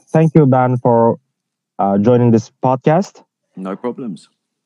Thank you, Ben, for joining this podcast. No problems.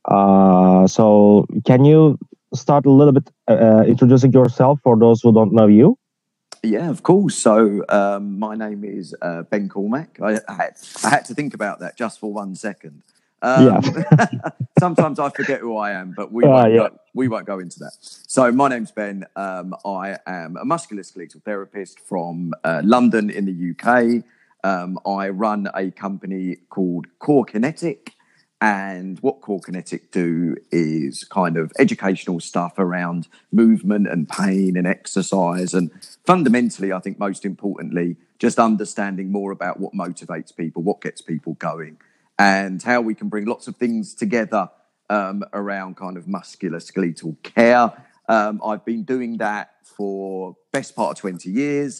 Can you start a little bit introducing yourself for those who don't know you? Yeah, of course. So my name is Ben Cormack. I had to think about that just for 1 second. Yeah. Sometimes I forget who I am, but we won't go into that. So my name's Ben. I am a musculoskeletal therapist from London in the UK. I run a company called Core Kinetic. And what Core Kinetic do is kind of educational stuff around movement and pain and exercise. And fundamentally, I think most importantly, just understanding more about what motivates people, what gets people going, and how we can bring lots of things together around kind of musculoskeletal care. I've been doing that for best part of 20 years.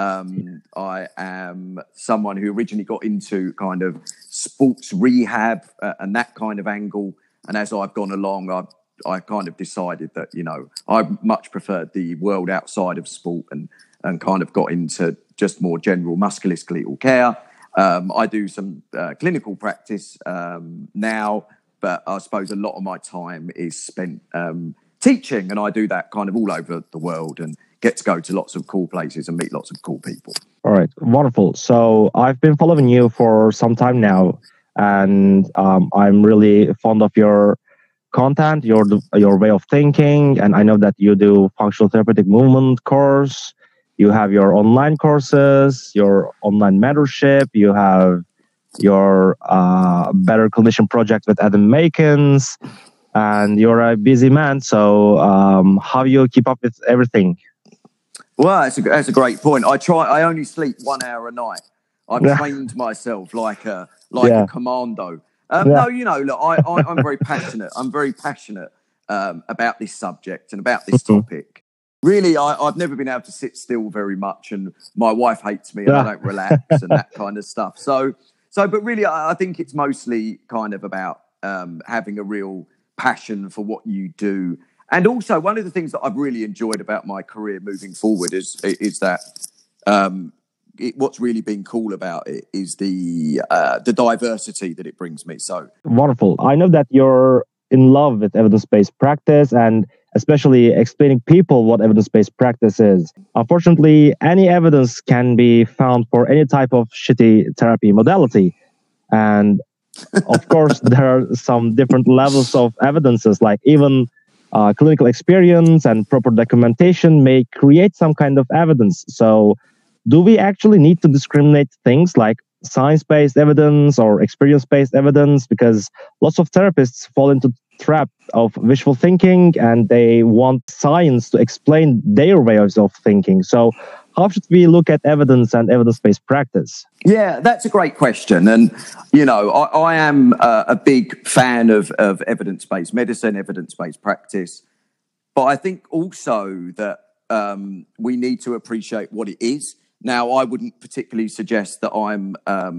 I am someone who originally got into kind of sports rehab and that kind of angle. And as I've gone along, I kind of decided that, I much preferred the world outside of sport and kind of got into just more general musculoskeletal care. I do some clinical practice now, but I suppose a lot of my time is spent teaching, and I do that kind of all over the world and get to go to lots of cool places and meet lots of cool people. All right, wonderful. So I've been following you for some time now, and I'm really fond of your content, your way of thinking, and I know that you do functional therapeutic movement course. You have your online courses, your online mentorship. You have your Better Clinician project with Adam Makins, and you're a busy man. So how do you keep up with everything? Well, that's a great point. I only sleep 1 hour a night. I've trained myself like a commando. No, look, I'm very passionate. I'm very passionate about this subject and about this topic. Really, I've never been able to sit still very much, and my wife hates me and I don't relax and that kind of stuff. But really, I think it's mostly kind of about having a real passion for what you do. And also, one of the things that I've really enjoyed about my career moving forward is that what's really been cool about it is the diversity that it brings me. So wonderful. I know that you're in love with evidence-based practice and especially explaining people what evidence-based practice is. Unfortunately, any evidence can be found for any type of shitty therapy modality. And of course, there are some different levels of evidences, like even clinical experience and proper documentation may create some kind of evidence. So do we actually need to discriminate things like science-based evidence or experience-based evidence? Because lots of therapists fall into trap of wishful thinking and they want science to explain their ways of thinking. So how should we look at evidence and evidence-based practice? Yeah, that's a great question. And, I am a big fan of evidence-based medicine, evidence-based practice. But I think also that we need to appreciate what it is. Now, I wouldn't particularly suggest that I'm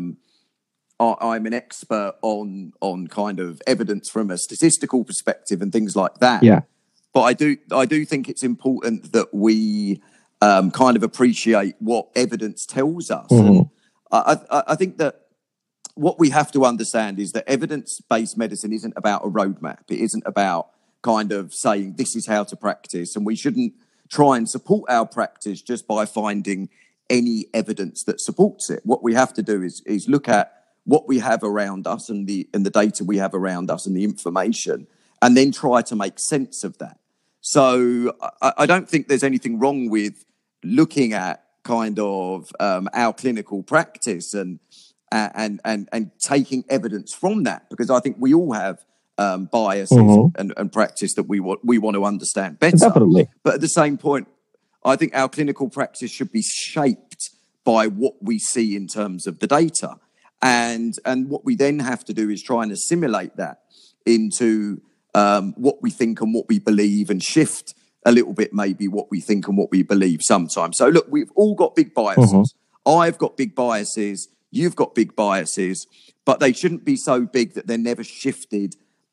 an expert on kind of evidence from a statistical perspective and things like that. Yeah. But I do think it's important that we kind of appreciate what evidence tells us. Mm-hmm. And I think that what we have to understand is that evidence-based medicine isn't about a roadmap. It isn't about kind of saying this is how to practice, and we shouldn't try and support our practice just by finding any evidence that supports it. What we have to do is look at what we have around us and the data we have around us and the information, and then try to make sense of that. So I don't think there's anything wrong with looking at kind of our clinical practice and taking evidence from that, because I think we all have biases and practice that we want to understand better. Definitely. But at the same point, I think our clinical practice should be shaped by what we see in terms of the data. And what we then have to do is try and assimilate that into what we think and what we believe, and shift a little bit maybe what we think and what we believe sometimes. So look, we've all got big biases. I've got big biases. You've got big biases, but they shouldn't be so big that they're never shifted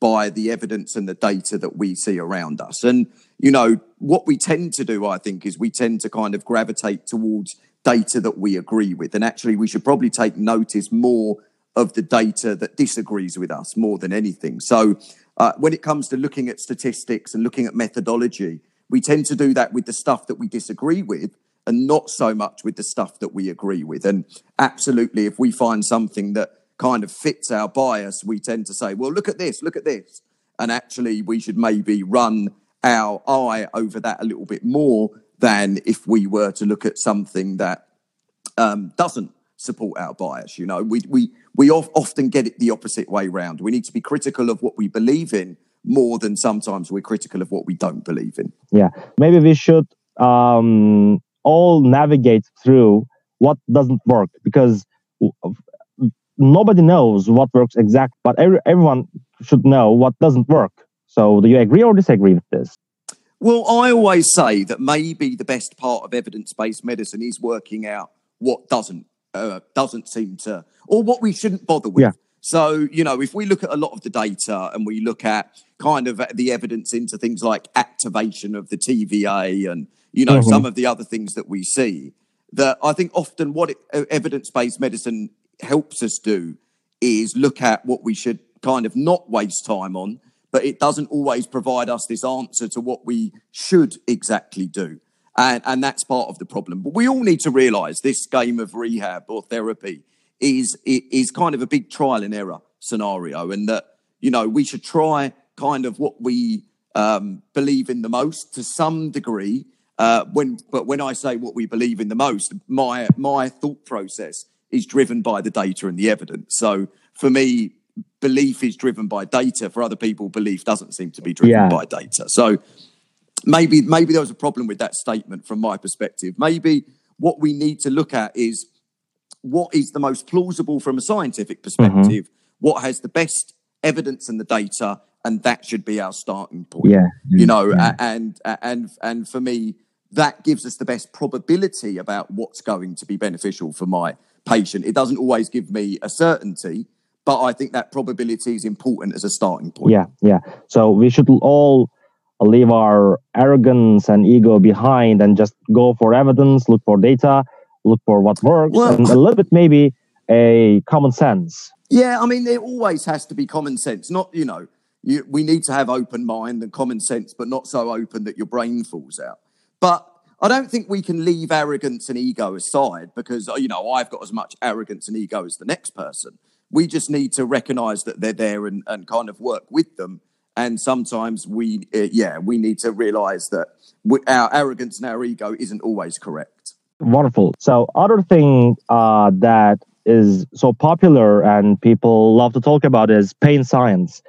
by the evidence and the data that we see around us. And, what we tend to do, I think, is we tend to kind of gravitate towards data that we agree with. And actually, we should probably take notice more of the data that disagrees with us more than anything. So when it comes to looking at statistics and looking at methodology, we tend to do that with the stuff that we disagree with and not so much with the stuff that we agree with. And absolutely, if we find something that kind of fits our bias, we tend to say, well, look at this. And actually, we should maybe run our eye over that a little bit more than if we were to look at something that doesn't support our bias. We often get it the opposite way round. We need to be critical of what we believe in more than sometimes we're critical of what we don't believe in. Yeah, maybe we should all navigate through what doesn't work, because nobody knows what works exactly, but everyone should know what doesn't work. So do you agree or disagree with this? Well, I always say that maybe the best part of evidence-based medicine is working out what doesn't seem to, or what we shouldn't bother with. Yeah. So, if we look at a lot of the data and we look at kind of the evidence into things like activation of the TVA and, some of the other things that we see, that I think often what evidence-based medicine helps us do is look at what we should kind of not waste time on, but it doesn't always provide us this answer to what we should exactly do. And that's part of the problem. But we all need to realise this game of rehab or therapy is kind of a big trial and error scenario, and that, we should try kind of what we believe in the most to some degree. But when I say what we believe in the most, my thought process is driven by the data and the evidence. So for me, belief is driven by data. For other people, belief doesn't seem to be driven by data. So maybe there was a problem with that statement from my perspective. Maybe what we need to look at is what is the most plausible from a scientific perspective, what has the best evidence and the data, and that should be our starting point. And for me, that gives us the best probability about what's going to be beneficial for my patient. It doesn't always give me a certainty, but I think that probability is important as a starting point. Yeah. So we should all leave our arrogance and ego behind and just go for evidence, look for data, look for what works, and a little bit maybe a common sense. Yeah, I mean, there always has to be common sense. Not, we need to have open mind and common sense, but not so open that your brain falls out. But I don't think we can leave arrogance and ego aside because, I've got as much arrogance and ego as the next person. We just need to recognise that they're there and kind of work with them. And sometimes we need to realise that our arrogance and our ego isn't always correct. Wonderful. So other thing that is so popular and people love to talk about is pain science.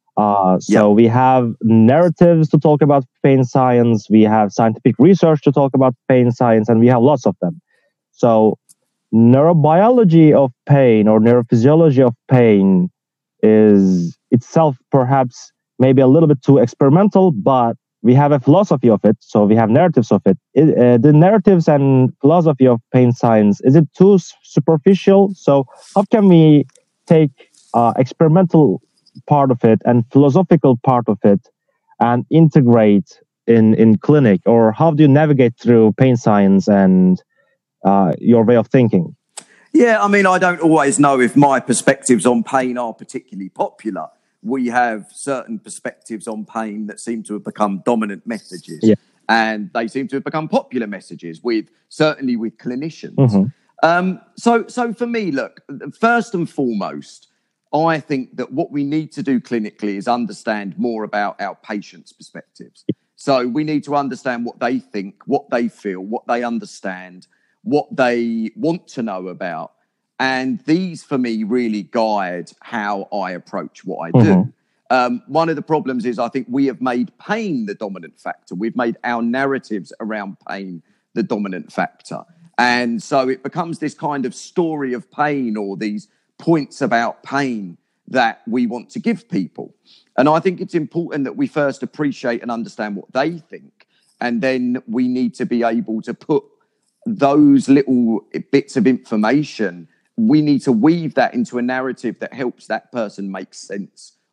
We have narratives to talk about pain science. We have scientific research to talk about pain science, and we have lots of them. So neurobiology of pain or neurophysiology of pain is itself perhaps maybe a little bit too experimental, but we have a philosophy of it. So we have narratives of it. The narratives and philosophy of pain science, is it too superficial? So how can we take experimental part of it and philosophical part of it and integrate in clinic? Or how do you navigate through pain science and your way of thinking? Yeah, I mean, I don't always know if my perspectives on pain are particularly popular. We have certain perspectives on pain that seem to have become dominant messages. Yeah. And they seem to have become popular messages certainly with clinicians. So for me, look, first and foremost, I think that what we need to do clinically is understand more about our patients' perspectives. So we need to understand what they think, what they feel, what they understand, what they want to know about. And these, for me, really guide how I approach what I do. One of the problems is I think we have made pain the dominant factor. We've made our narratives around pain the dominant factor. And so it becomes this kind of story of pain or these points about pain that we want to give people. And I think it's important that we first appreciate and understand what they think. And then we need to be able to put those little bits of information, we need to weave that into a narrative that helps that person make sense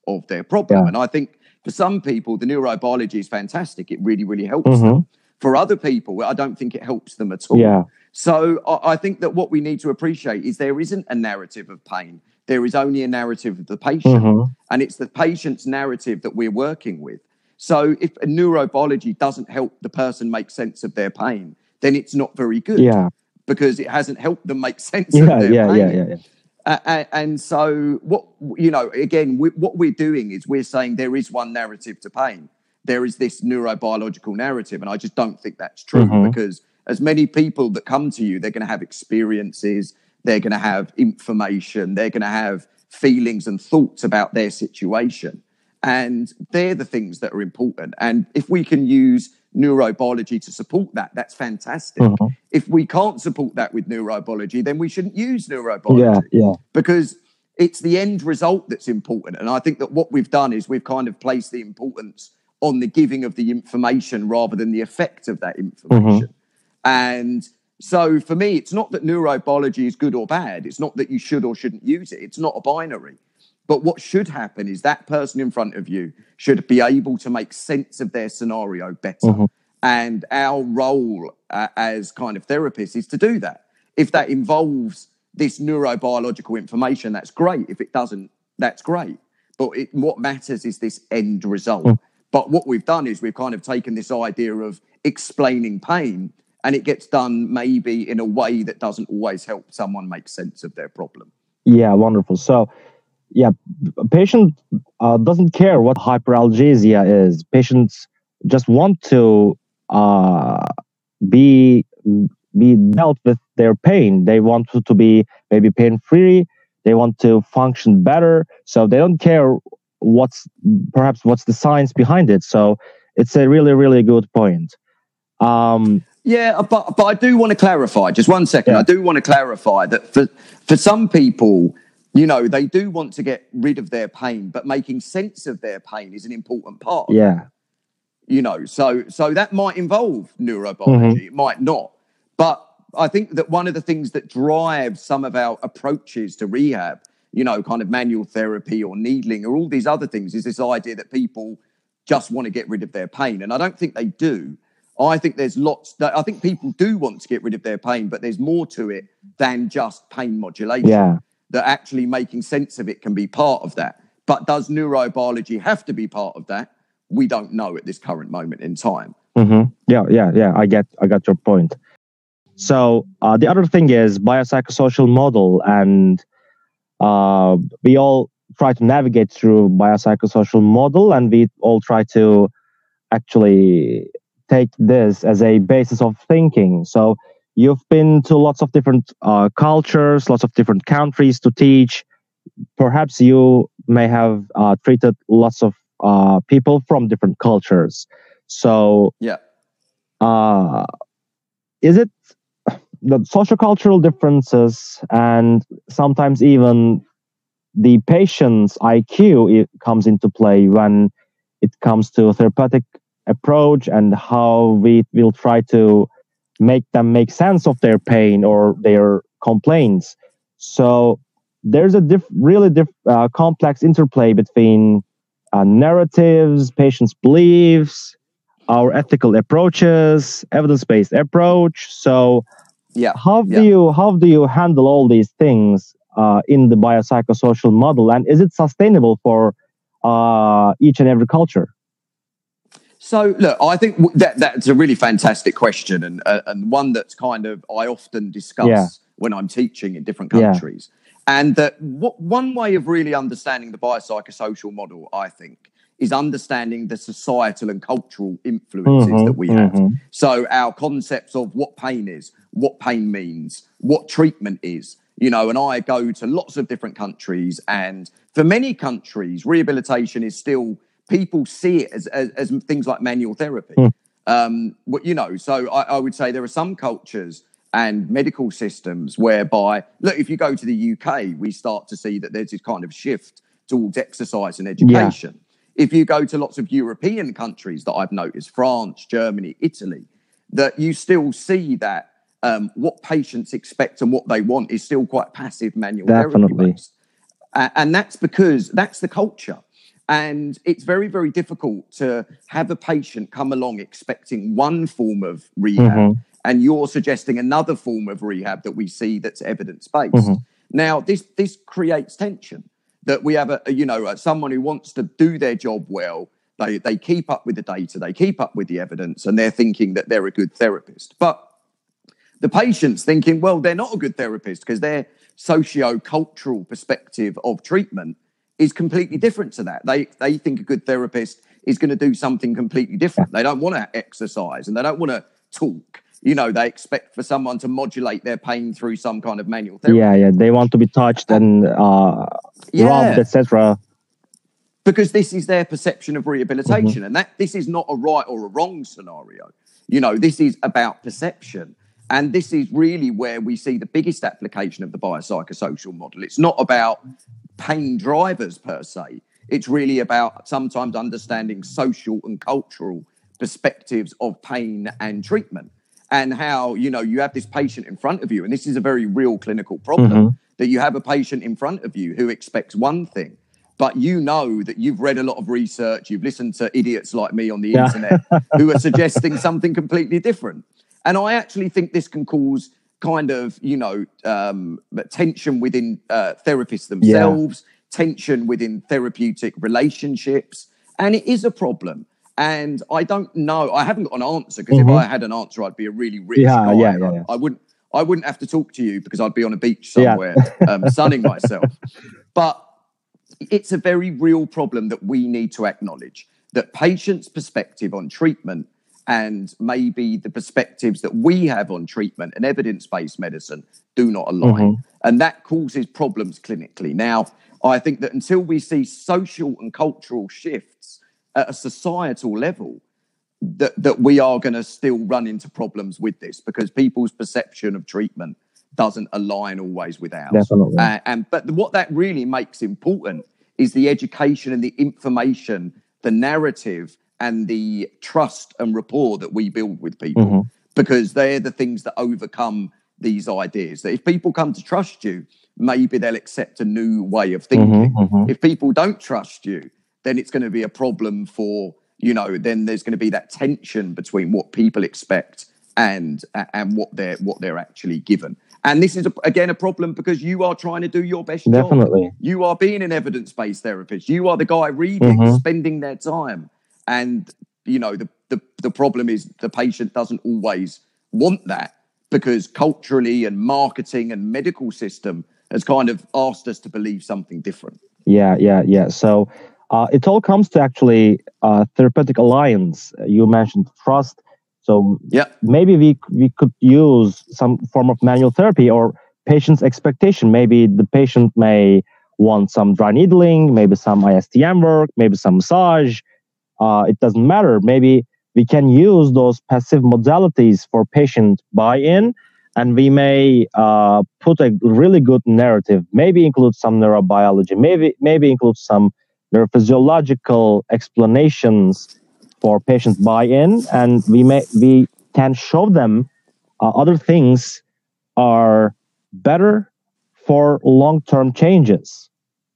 of their problem. Yeah. And I think for some people, the neurobiology is fantastic. It really, really helps them. For other people, I don't think it helps them at all. Yeah. So I think that what we need to appreciate is there isn't a narrative of pain. There is only a narrative of the patient. And it's the patient's narrative that we're working with. So if a neurobiology doesn't help the person make sense of their pain, then it's not very good. Yeah. Because it hasn't helped them make sense of their pain. Yeah. And so what we're doing is we're saying there is one narrative to pain. There is this neurobiological narrative. And I just don't think that's true because as many people that come to you, they're going to have experiences, they're going to have information, they're going to have feelings and thoughts about their situation. And they're the things that are important. And if we can use neurobiology to support that, that's fantastic. If we can't support that with neurobiology, then we shouldn't use neurobiology. Because it's the end result that's important. And I think that what we've done is we've kind of placed the importance on the giving of the information rather than the effect of that information. And so for me, it's not that neurobiology is good or bad. It's not that you should or shouldn't use it. It's not a binary. But what should happen is that person in front of you should be able to make sense of their scenario better. And our role as kind of therapists is to do that. If that involves this neurobiological information, that's great. If it doesn't, that's great. But what matters is this end result. But what we've done is we've kind of taken this idea of explaining pain, and it gets done maybe in a way that doesn't always help someone make sense of their problem. Yeah, wonderful. So, yeah, a patient doesn't care what hyperalgesia is. Patients just want to be dealt with their pain. They want to be maybe pain-free. They want to function better. So they don't care what's the science behind it. So it's a really, really good point. Yeah, but I do want to clarify, just 1 second. I do want to clarify that for some people, you know, they do want to get rid of their pain, but making sense of their pain is an important part of it. You know, so that might involve neurobiology, it might not. But I think that one of the things that drives some of our approaches to rehab, you know, kind of manual therapy or needling or all these other things, is this idea that people just want to get rid of their pain. And I don't think they do. I think there's I think people do want to get rid of their pain, but there's more to it than just pain modulation. That actually making sense of it can be part of that. But does neurobiology have to be part of that? We don't know at this current moment in time. Yeah. I got your point. So the other thing is biopsychosocial model, and we all try to navigate through biopsychosocial model, and we all try to actually take this as a basis of thinking. So you've been to lots of different cultures, lots of different countries to teach. Perhaps you may have treated lots of people from different cultures. So is it the sociocultural differences and sometimes even the patient's IQ comes into play when it comes to a therapeutic approach and how we will try to make them make sense of their pain or their complaints. So there's a really complex interplay between narratives, patients' beliefs, our ethical approaches, evidence-based approach. So how do you handle all these things in the biopsychosocial model, and is it sustainable for each and every culture? So, look, I think that's a really fantastic question, and one that's kind of I often discuss when I'm teaching in different countries. And that one way of really understanding the biopsychosocial model, I think, is understanding the societal and cultural influences that we have. So our concepts of what pain is, what pain means, what treatment is, you know, and I go to lots of different countries, and for many countries, rehabilitation is still, people see it as things like manual therapy. You know, so I would say there are some cultures and medical systems whereby, look, if you go to the UK, we start to see that there's this kind of shift towards exercise and education. If you go to lots of European countries that I've noticed, France, Germany, Italy, that you still see that what patients expect and what they want is still quite passive manual therapy based. And that's because that's the culture. And it's very, very difficult to have a patient come along expecting one form of rehab and you're suggesting another form of rehab that we see that's evidence-based. Now, this creates tension, that we have someone who wants to do their job well. They keep up with the data, they keep up with the evidence, and they're thinking that they're a good therapist. But the patient's thinking, well, they're not a good therapist because their socio-cultural perspective of treatment is completely different to that. They think a good therapist is going to do something completely different. They don't want to exercise and they don't want to talk. They expect for someone to modulate their pain through some kind of manual therapy. Yeah. They want to be touched and rubbed, etc. Because this is their perception of rehabilitation, and that this is not a right or a wrong scenario. This is about perception. And this is really where we see the biggest application of the biopsychosocial model. It's not about pain drivers per se. It's really about sometimes understanding social and cultural perspectives of pain and treatment, and how, you have this patient in front of you. And this is a very real clinical problem, that you have a patient in front of you who expects one thing, but that you've read a lot of research, you've listened to idiots like me on the internet who are suggesting something completely different. And I actually think this can cause kind of, tension within therapists themselves, tension within therapeutic relationships. And it is a problem. And I don't know, I haven't got an answer, because if I had an answer, I'd be a really rich guy. I wouldn't have to talk to you because I'd be on a beach somewhere sunning myself. But it's a very real problem that we need to acknowledge, that patients' perspective on treatment and maybe the perspectives that we have on treatment and evidence-based medicine do not align. And that causes problems clinically. Now, I think that until we see social and cultural shifts at a societal level, that we are going to still run into problems with this, because people's perception of treatment doesn't align always with ours. Definitely. But what that really makes important is the education and the information, the narrative, and the trust and rapport that we build with people, because they're the things that overcome these ideas. That if people come to trust you, maybe they'll accept a new way of thinking. If people don't trust you, then it's going to be a problem for, then there's going to be that tension between what people expect and what they're actually given. And this is, again, a problem because you are trying to do your best job. Definitely. You are being an evidence-based therapist. You are the guy reading, spending their time. And, the problem is the patient doesn't always want that, because culturally and marketing and medical system has kind of asked us to believe something different. Yeah. So it all comes to actually therapeutic alliance. You mentioned trust. So maybe we could use some form of manual therapy or patient's expectation. Maybe the patient may want some dry needling, maybe some ISTM work, maybe some massage. It doesn't matter. Maybe we can use those passive modalities for patient buy-in, and we may put a really good narrative, maybe include some neurobiology, maybe include some neurophysiological explanations for patient buy-in, and we can show them other things are better for long-term changes.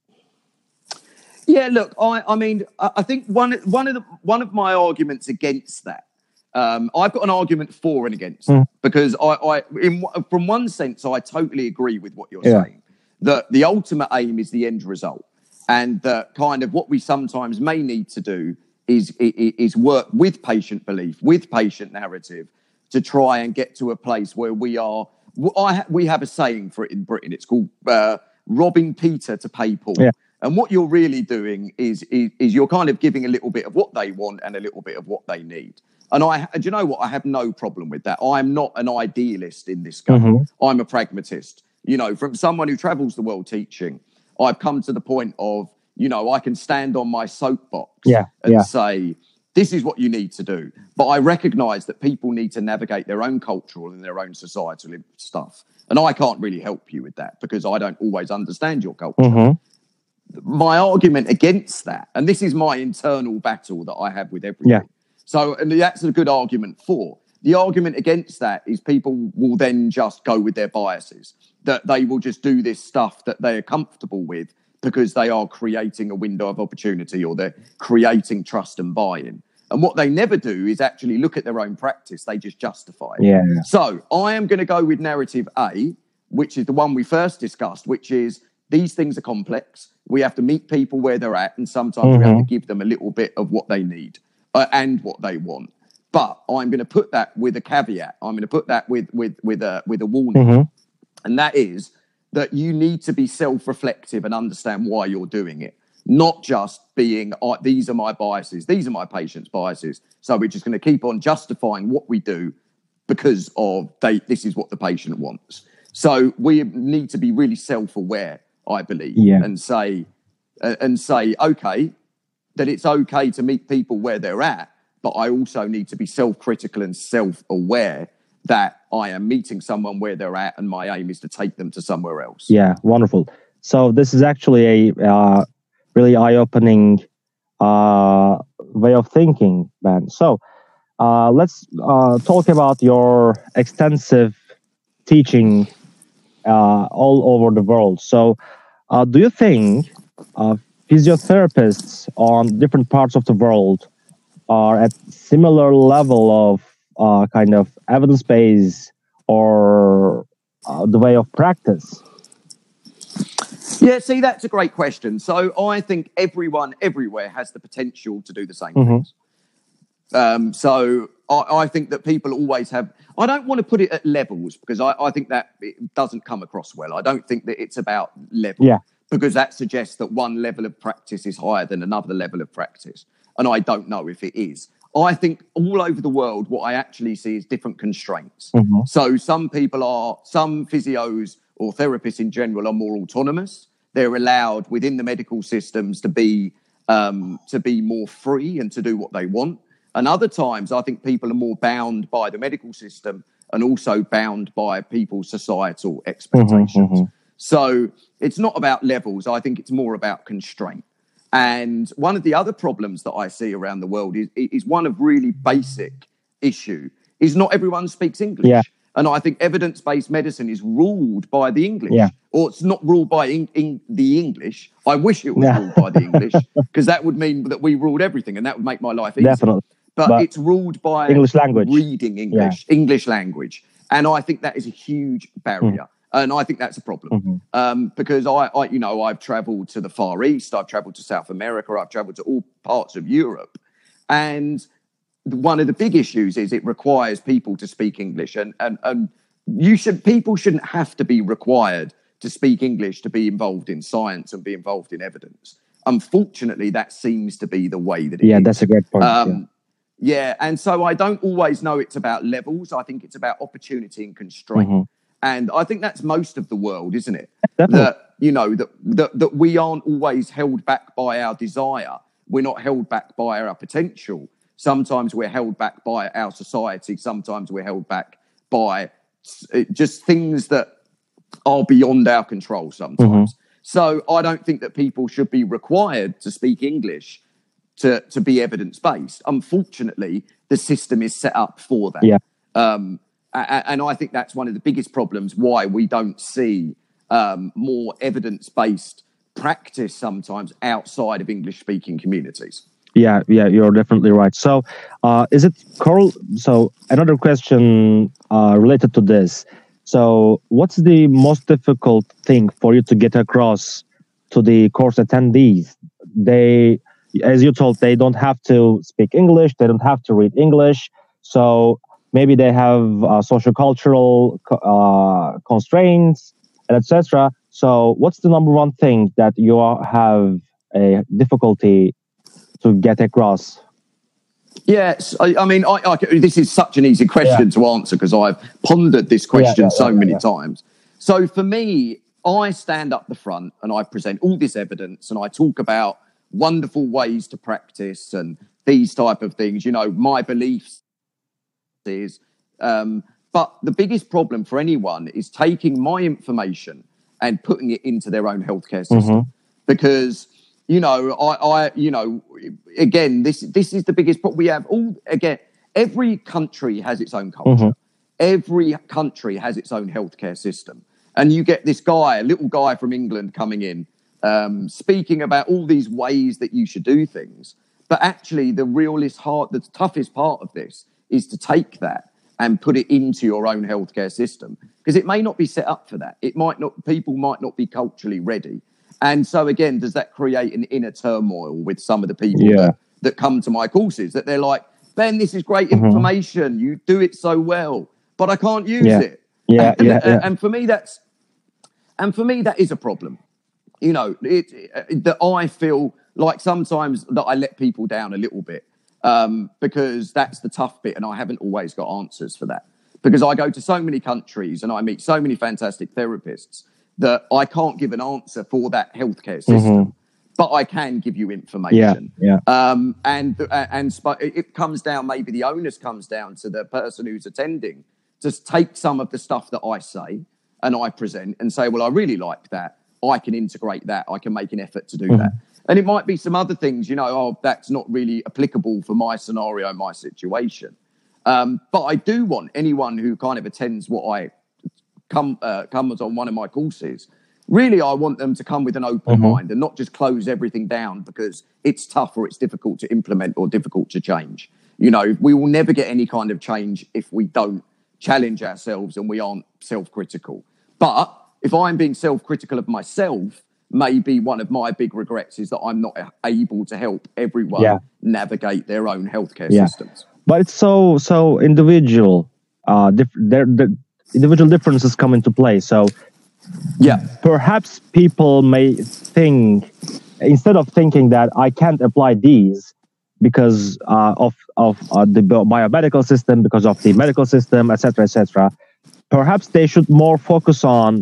Yeah, look, I mean, I think one of my arguments against that, I've got an argument for and against, because from one sense, I totally agree with what you're saying, that the ultimate aim is the end result, and that kind of what we sometimes may need to do is work with patient belief, with patient narrative, to try and get to a place where we have a saying for it in Britain. It's called robbing Peter to pay Paul. Yeah. And what you're really doing is you're kind of giving a little bit of what they want and a little bit of what they need. And do you know what? I have no problem with that. I'm not an idealist in this game. I'm a pragmatist. From someone who travels the world teaching, I've come to the point of, I can stand on my soapbox and say, this is what you need to do. But I recognize that people need to navigate their own cultural and their own societal stuff. And I can't really help you with that because I don't always understand your culture. My argument against that, and this is my internal battle that I have with everything. So, and that's a good argument for, the argument against that is people will then just go with their biases, that they will just do this stuff that they are comfortable with because they are creating a window of opportunity or they're creating trust and buy-in. And what they never do is actually look at their own practice. They just justify it. Yeah. So I am going to go with narrative A, which is the one we first discussed, which is these things are complex. We have to meet people where they're at, and sometimes we have to give them a little bit of what they need and what they want. But I'm going to put that with a caveat. I'm going to put that with a warning, and that is that you need to be self-reflective and understand why you're doing it, not just being, these are my biases, these are my patients' biases. So we're just going to keep on justifying what we do because of this is what the patient wants. So we need to be really self-aware, I believe, and say, okay, that it's okay to meet people where they're at, but I also need to be self-critical and self-aware that I am meeting someone where they're at and my aim is to take them to somewhere else. Yeah, wonderful. So this is actually a really eye-opening way of thinking, Ben. So let's talk about your extensive teaching all over the world. So do you think physiotherapists on different parts of the world are at similar level of kind of evidence base or the way of practice? Yeah, see, that's a great question. So I think everyone everywhere has the potential to do the same things. So I think that people always have, I don't want to put it at levels because I think that it doesn't come across well. I don't think that it's about level because that suggests that one level of practice is higher than another level of practice. And I don't know if it is. I think all over the world, what I actually see is different constraints. So some physios or therapists in general are more autonomous. They're allowed within the medical systems to be more free and to do what they want. And other times, I think people are more bound by the medical system and also bound by people's societal expectations. So it's not about levels. I think it's more about constraint. And one of the other problems that I see around the world is one of really basic issue is not everyone speaks English. And I think evidence-based medicine is ruled by the English, or it's not ruled by the English. I wish it was ruled by the English because that would mean that we ruled everything and that would make my life easier. Definitely. But it's ruled by English language, reading English, English language. And I think that is a huge barrier. And I think that's a problem because I've traveled to the Far East, I've traveled to South America, I've traveled to all parts of Europe. And one of the big issues is it requires people to speak English. And people shouldn't have to be required to speak English to be involved in science and be involved in evidence. Unfortunately, that seems to be the way that it is. Yeah, that's a great point. And so I don't always know it's about levels. I think it's about opportunity and constraint. And I think that's most of the world, isn't it? Definitely. That we aren't always held back by our desire. We're not held back by our potential. Sometimes we're held back by our society. Sometimes we're held back by just things that are beyond our control sometimes. So I don't think that people should be required to speak English to be evidence-based. Unfortunately, the system is set up for that. And I think that's one of the biggest problems why we don't see more evidence-based practice sometimes outside of English-speaking communities. Yeah, you're definitely right. So is it Carl? So another question related to this. So what's the most difficult thing for you to get across to the course attendees? They, as you told, they don't have to speak English. They don't have to read English. So maybe they have sociocultural constraints, and etc. So what's the number one thing that you have a difficulty to get across? Yes, I mean, this is such an easy question to answer because I've pondered this question so many times. So for me, I stand up the front and I present all this evidence and I talk about wonderful ways to practice and these type of things. You know, my beliefs is, but the biggest problem for anyone is taking my information and putting it into their own healthcare system because. Again, this is the biggest problem we have. every country has its own culture. Every country has its own healthcare system. And you get this guy, a little guy from England coming in, speaking about all these ways that you should do things. But actually, the toughest part of this is to take that and put it into your own healthcare system, because it may not be set up for that. People might not be culturally ready. And so again, does that create an inner turmoil with some of the people that come to my courses, that they're like, Ben, this is great information. You do it so well, but I can't use it. And for me, that is a problem. You know, that I feel like sometimes that I let people down a little bit, because that's the tough bit, and I haven't always got answers for that. Because I go to so many countries and I meet so many fantastic therapists that I can't give an answer for that healthcare system, but I can give you information. And it comes down, maybe the onus comes down to the person who's attending to take some of the stuff that I say and I present and say, well, I really like that. I can integrate that. I can make an effort to do that. And it might be some other things, you know, oh, that's not really applicable for my scenario, my situation. But I do want anyone who kind of attends what I comes on one of my courses, really, I want them to come with an open mind and not just close everything down because it's tough or it's difficult to implement or difficult to change. You know, we will never get any kind of change if we don't challenge ourselves and we aren't self-critical. But if I'm being self-critical of myself, maybe one of my big regrets is that I'm not able to help everyone navigate their own healthcare systems. But it's so individual. The individual differences come into play. So perhaps people may think, instead of thinking that I can't apply these because of the biomedical system, because of the medical system, etc., perhaps they should more focus on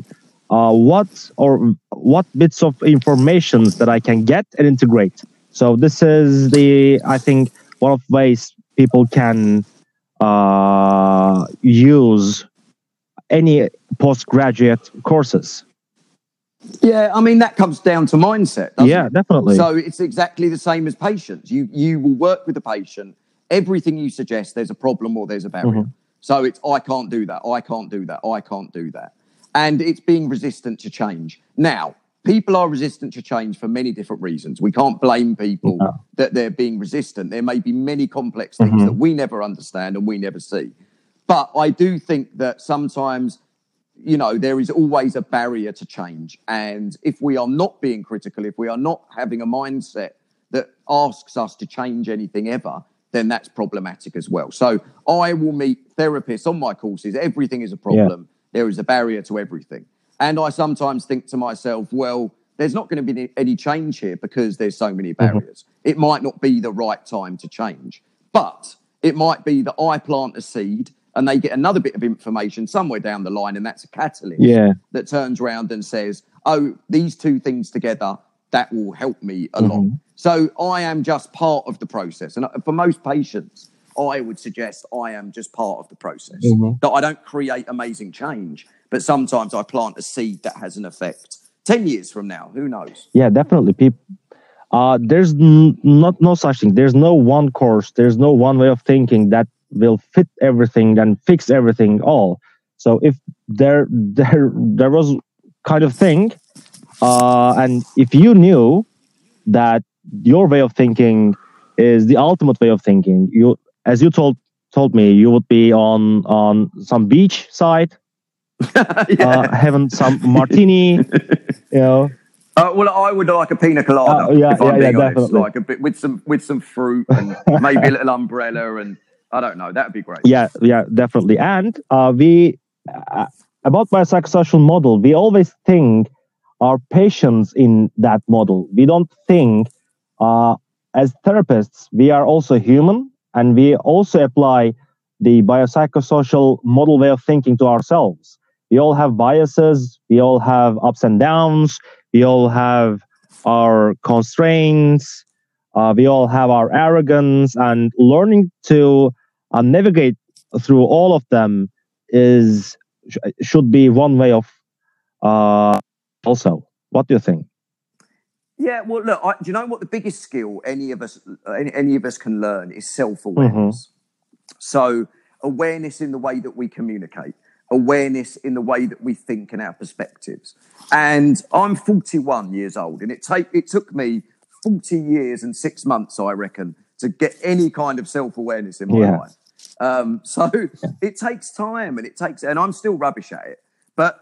what bits of information that I can get and integrate. So this is I think one of the ways people can use any postgraduate courses. Yeah, I mean, that comes down to mindset, doesn't it? Definitely. So it's exactly the same as patients. You will work with the patient. Everything you suggest, there's a problem or there's a barrier. So it's, I can't do that, I can't do that, I can't do that. And it's being resistant to change. Now, people are resistant to change for many different reasons. We can't blame people that they're being resistant. There may be many complex things that we never understand and we never see. But I do think that sometimes, you know, there is always a barrier to change. And if we are not being critical, if we are not having a mindset that asks us to change anything ever, then that's problematic as well. So I will meet therapists on my courses. Everything is a problem. There is a barrier to everything. And I sometimes think to myself, well, there's not going to be any change here because there's so many barriers. It might not be the right time to change, but it might be that I plant a seed and they get another bit of information somewhere down the line, and that's a catalyst that turns around and says, oh, these two things together, that will help me along. So I am just part of the process. And for most patients, I would suggest I am just part of the process, that I don't create amazing change, but sometimes I plant a seed that has an effect. 10 years from now, who knows? Yeah, definitely. There's no such thing. There's no one course. There's no one way of thinking that will fit everything and fix everything all. So if there was kind of thing, and if you knew that your way of thinking is the ultimate way of thinking, as you told me, you would be on some beach side, having some martini, you know. Well, I would like a pina colada. If I'm being honest, definitely. Like a bit with some fruit and maybe a little umbrella, and I don't know. That'd be great. Yeah, definitely. And we about biopsychosocial model, we always think our patients in that model. We don't think as therapists we are also human, and we also apply the biopsychosocial model way of thinking to ourselves. We all have biases. We all have ups and downs. We all have our constraints. We all have our arrogance, and learning to navigate through all of them should be one way of also. What do you think? Yeah, well, look, do you know what the biggest skill any of us can learn is self-awareness. So awareness in the way that we communicate, awareness in the way that we think and our perspectives. And I'm 41 years old, and it took me 40 years and 6 months, I reckon, to get any kind of self-awareness in my life. So it takes time, and I'm still rubbish at it. But,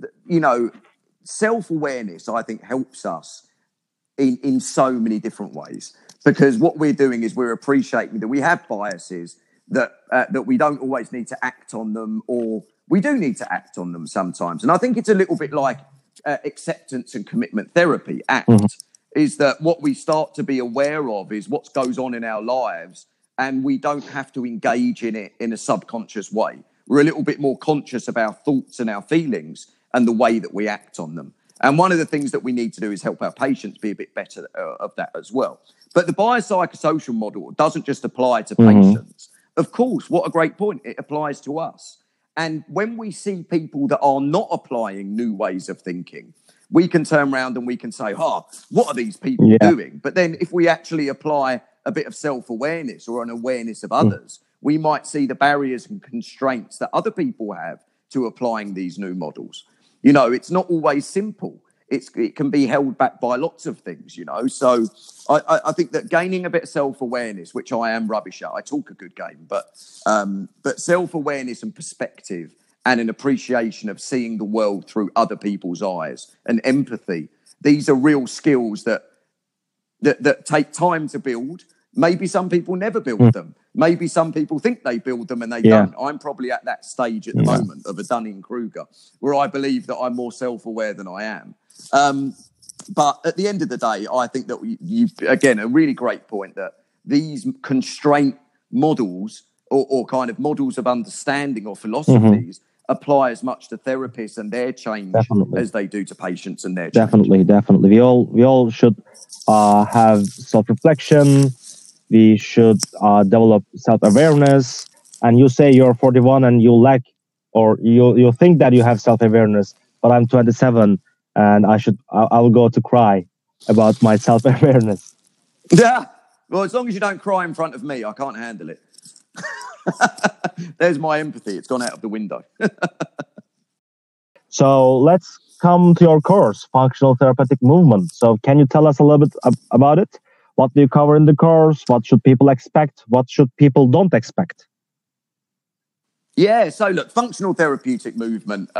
self-awareness, I think, helps us in so many different ways, because what we're doing is we're appreciating that we have biases, that we don't always need to act on them, or we do need to act on them sometimes. And I think it's a little bit like acceptance and commitment therapy, ACT, is that what we start to be aware of is what goes on in our lives, and we don't have to engage in it in a subconscious way. We're a little bit more conscious of our thoughts and our feelings and the way that we act on them. And one of the things that we need to do is help our patients be a bit better of that as well. But the biopsychosocial model doesn't just apply to patients. Of course, what a great point. It applies to us. And when we see people that are not applying new ways of thinking, we can turn around and we can say, what are these people doing? But then if we actually apply a bit of self-awareness or an awareness of others, we might see the barriers and constraints that other people have to applying these new models. It's not always simple. It can be held back by lots of things, So I think that gaining a bit of self-awareness, which I am rubbish at, I talk a good game, but self-awareness and perspective and an appreciation of seeing the world through other people's eyes and empathy, these are real skills that take time to build. Maybe some people never build them. Maybe some people think they build them and they don't. I'm probably at that stage at the moment of a Dunning-Kruger, where I believe that I'm more self-aware than I am. But at the end of the day, I think that you again, a really great point, that these constraint models or kind of models of understanding or philosophies apply as much to therapists and their change as they do to patients and their change. Definitely. We all should have self-reflection. We should develop self-awareness. And you say you're 41 and you lack, or you think that you have self-awareness, but I'm 27 and I will go to cry about my self-awareness. Yeah. Well, as long as you don't cry in front of me, I can't handle it. There's my empathy. It's gone out of the window. So let's come to your course, Functional Therapeutic Movement. So can you tell us a little bit about it? What do you cover in the course? What should people expect? What should people don't expect? Yeah, so look, Functional Therapeutic Movement.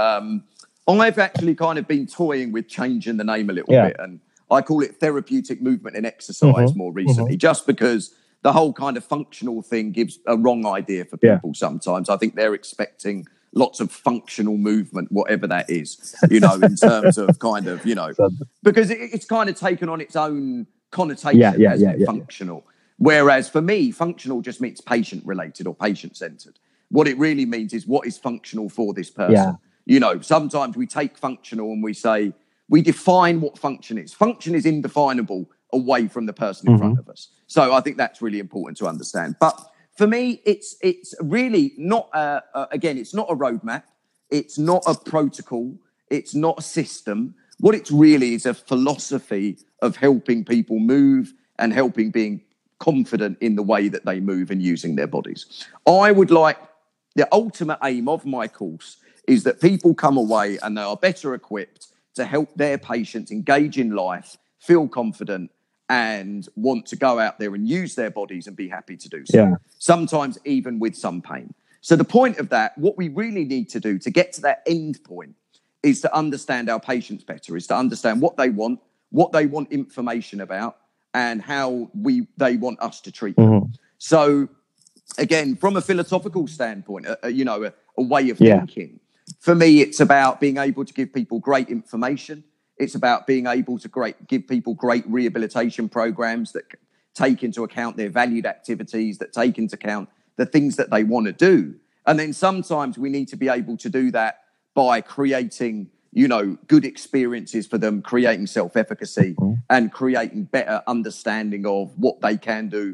I've actually kind of been toying with changing the name a little bit, and I call it Therapeutic Movement and Exercise more recently, just because the whole kind of functional thing gives a wrong idea for people sometimes. I think they're expecting lots of functional movement, whatever that is, in terms of kind of, because it's kind of taken on its own connotation as functional. Whereas for me, functional just means patient-related or patient-centered. What it really means is what is functional for this person. Sometimes we take functional and we define what function is. Function is indefinable away from the person in front of us. So I think that's really important to understand. But for me, it's really not, it's not a roadmap. It's not a protocol. It's not a system. What it's really is a philosophy of helping people move and helping being confident in the way that they move and using their bodies. I would like, the ultimate aim of my course is that people come away and they are better equipped to help their patients engage in life, feel confident, and want to go out there and use their bodies and be happy to do so. Sometimes even with some pain. So the point of that, what we really need to do to get to that end point, is to understand our patients better, is to understand what they want information about, and how they want us to treat them. So again, from a philosophical standpoint, a way of thinking, for me, it's about being able to give people great information. It's about being able to give people great rehabilitation programs that take into account their valued activities, that take into account the things that they want to do. And then sometimes we need to be able to do that by creating, good experiences for them, creating self-efficacy and creating better understanding of what they can do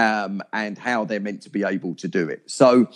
and how they're meant to be able to do it. So,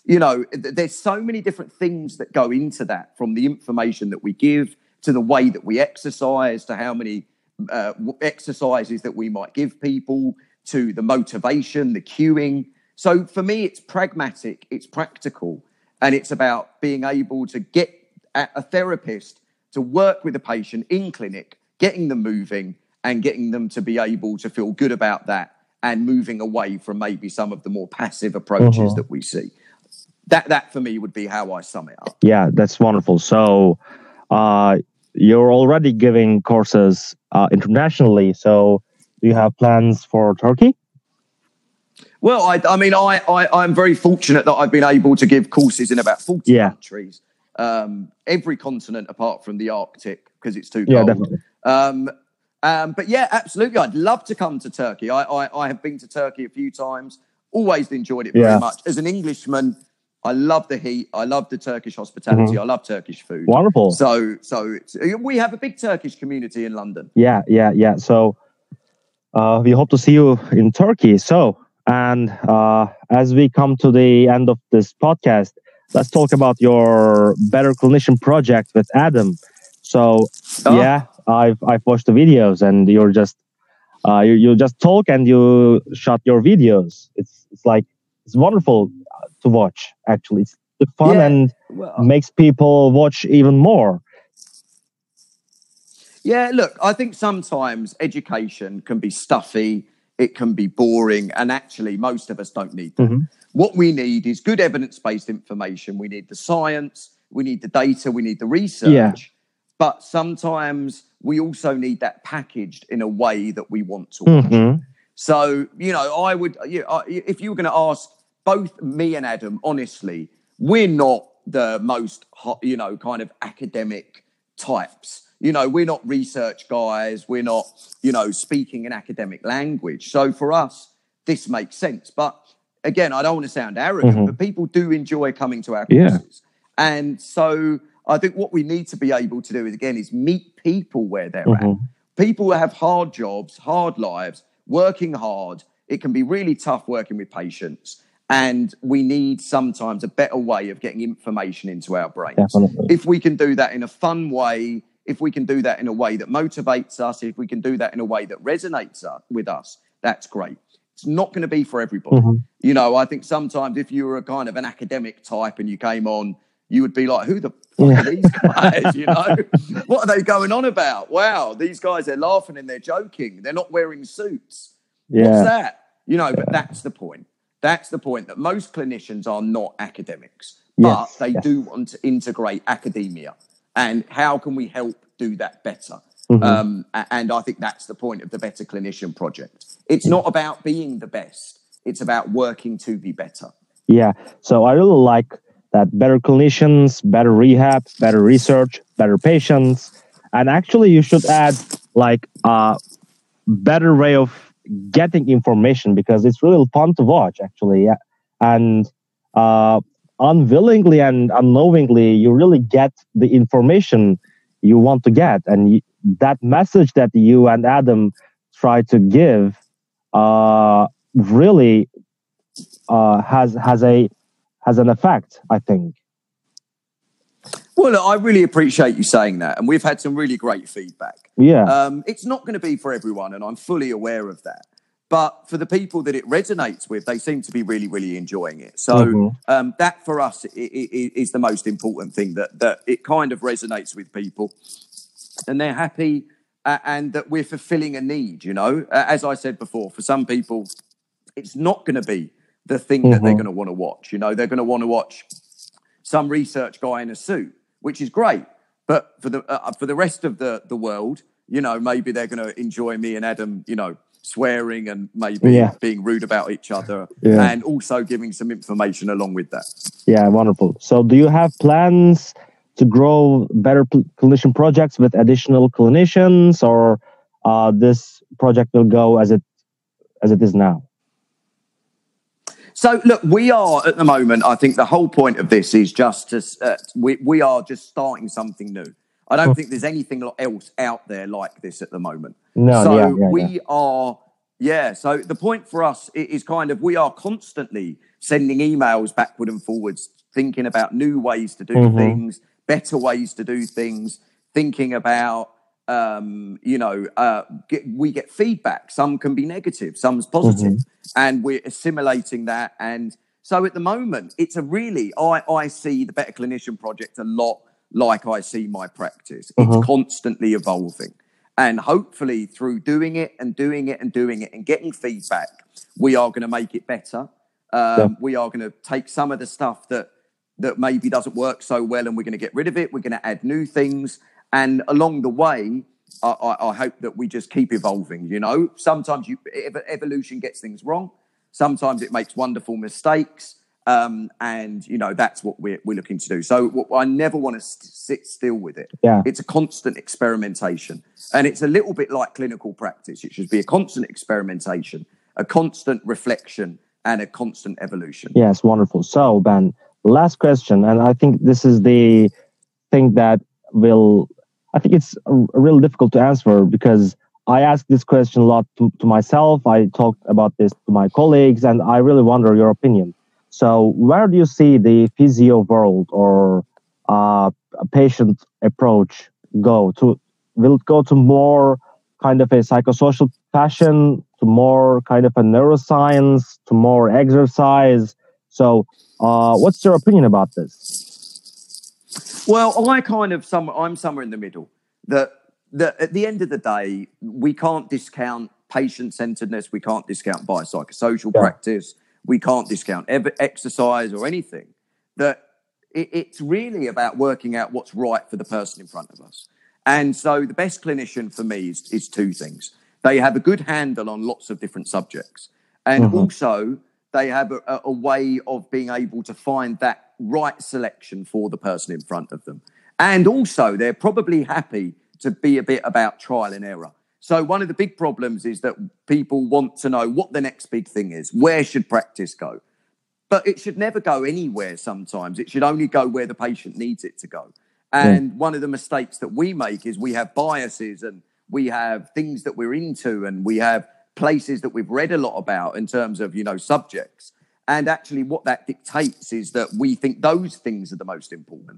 there's so many different things that go into that, from the information that we give to the way that we exercise, to how many exercises that we might give people, to the motivation, the cueing. So for me, it's pragmatic, it's practical, and it's about being able to get a therapist to work with a patient in clinic, getting them moving and getting them to be able to feel good about that and moving away from maybe some of the more passive approaches that we see. That for me would be how I sum it up. Yeah, that's wonderful. So you're already giving courses internationally. So do you have plans for Turkey? Well, I'm very fortunate that I've been able to give courses in about 40 countries, every continent apart from the Arctic because it's too cold. Yeah, definitely. But yeah, absolutely. I'd love to come to Turkey. I have been to Turkey a few times, always enjoyed it very much. As an Englishman, I love the heat. I love the Turkish hospitality. I love Turkish food. Wonderful. So we have a big Turkish community in London. Yeah. So we hope to see you in Turkey. So, and as we come to the end of this podcast, let's talk about your Better Clinician project with Adam. So, I've watched the videos, and you're just you just talk and you shot your videos. It's wonderful to watch. Actually, it's fun and makes people watch even more. Yeah, look, I think sometimes education can be stuffy, it can be boring, and actually most of us don't need that. What we need is good evidence-based information. We need the science, we need the data, we need the research. But sometimes we also need that packaged in a way that we want to watch. So, I would, if you were going to ask both me and Adam, honestly, we're not the most, kind of academic types. We're not research guys. We're not, speaking in academic language. So for us, this makes sense. But again, I don't want to sound arrogant, but people do enjoy coming to our courses. And so I think what we need to be able to do is meet people where they're at. People who have hard jobs, hard lives, working hard. It can be really tough working with patients. And we need sometimes a better way of getting information into our brains. Definitely. If we can do that in a fun way, if we can do that in a way that motivates us, if we can do that in a way that resonates with us, that's great. It's not going to be for everybody. I think sometimes if you were a kind of an academic type and you came on, you would be like, who the fuck are these guys? What are they going on about? Wow, these guys, they're laughing and they're joking. They're not wearing suits. What's that? But that's the point. That's the point, that most clinicians are not academics, but they do want to integrate academia. And how can we help do that better? And I think that's the point of the Better Clinician project. It's not about being the best. It's about working to be better. Yeah. So I really like that better clinicians, better rehab, better research, better patients. And actually you should add like a better way of getting information, because it's really fun to watch actually. And unwillingly and unknowingly, you really get the information you want to get. And that message that you and Adam try to give really has an effect, I think. Well, look, I really appreciate you saying that. And we've had some really great feedback. Yeah. It's not going to be for everyone, and I'm fully aware of that. But for the people that it resonates with, they seem to be really, really enjoying it. So that for us is the most important thing, that it kind of resonates with people and they're happy and that we're fulfilling a need, As I said before, for some people, it's not going to be the thing that they're going to want to watch. They're going to want to watch some research guy in a suit, which is great. But for the rest of the world, maybe they're going to enjoy me and Adam, swearing and maybe being rude about each other and also giving some information along with that. Yeah, wonderful. So do you have plans to grow Better Clinician projects with additional clinicians, or this project will go as it is now? So, look, we are at the moment, I think the whole point of this is just to, we are just starting something new. I don't think there's anything else out there like this at the moment. No, So the point for us is kind of, we are constantly sending emails backward and forwards, thinking about new ways to do things, better ways to do things, thinking about we get feedback. Some can be negative, some's positive, and we're assimilating that. And so at the moment, it's I see the Better Clinician Project a lot like I see my practice. It's constantly evolving. And hopefully through doing it and getting feedback, we are going to make it better. We are going to take some of the stuff that maybe doesn't work so well, and we're going to get rid of it. We're going to add new things. And along the way, I hope that we just keep evolving. Sometimes evolution gets things wrong. Sometimes it makes wonderful mistakes. And that's what we're looking to do. So I never want to sit still with it. Yeah. It's a constant experimentation, and it's a little bit like clinical practice. It should be a constant experimentation, a constant reflection, and a constant evolution. Yes, wonderful. So Ben, last question, and I think this is the thing that I think it's real difficult to answer, because I ask this question a lot to myself. I talked about this to my colleagues, and I really wonder your opinion. So where do you see the physio world or a patient approach go to? Will it go to more kind of a psychosocial fashion, to more kind of a neuroscience, to more exercise? So what's your opinion about this? Well, I'm somewhere in the middle. That at the end of the day, we can't discount patient-centeredness. We can't discount biopsychosocial practice. We can't discount exercise or anything. That it's really about working out what's right for the person in front of us. And so the best clinician for me is two things. They have a good handle on lots of different subjects. And also they have a way of being able to find that right selection for the person in front of them. And also they're probably happy to be a bit about trial and error. So one of the big problems is that people want to know what the next big thing is. Where should practice go? But it should never go anywhere sometimes. It should only go where the patient needs it to go. And one of the mistakes that we make is we have biases, and we have things that we're into, and we have places that we've read a lot about in terms of, subjects. And actually what that dictates is that we think those things are the most important.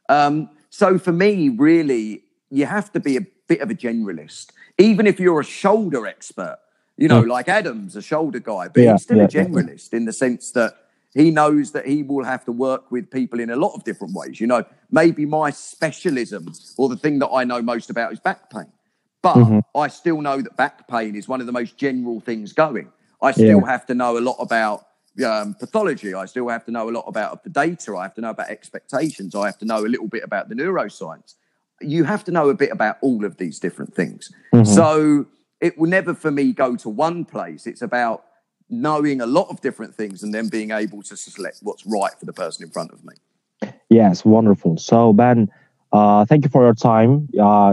So for me, really, you have to be a bit of a generalist. Even if you're a shoulder expert, like Adam's a shoulder guy, but he's still a generalist in the sense that he knows that he will have to work with people in a lot of different ways. Maybe my specialism, or the thing that I know most about, is back pain. But I still know that back pain is one of the most general things going. I still have to know a lot about pathology. I still have to know a lot about the data. I have to know about expectations. I have to know a little bit about the neuroscience. You have to know a bit about all of these different things. So it will never, for me, go to one place. It's about knowing a lot of different things and then being able to select what's right for the person in front of me. Yes, wonderful. So Ben, thank you for your time.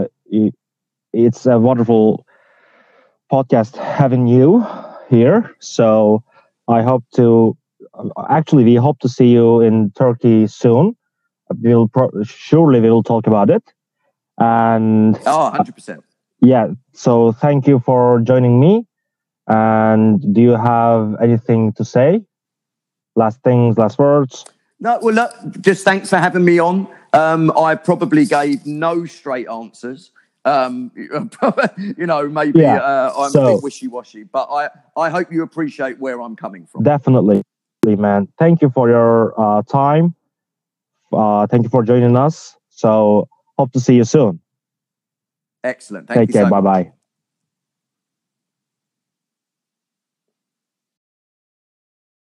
It's a wonderful podcast having you here. So we hope to see you in Turkey soon. Surely we will talk about it. And 100%. Yeah. So thank you for joining me. And do you have anything to say? Last words? No, well, look, just thanks for having me on. I probably gave no straight answers. Maybe I'm a bit wishy-washy, but I hope you appreciate where I'm coming from. Definitely, man. Thank you for your time. Thank you for joining us. So hope to see you soon. Excellent. Take care. Bye-bye.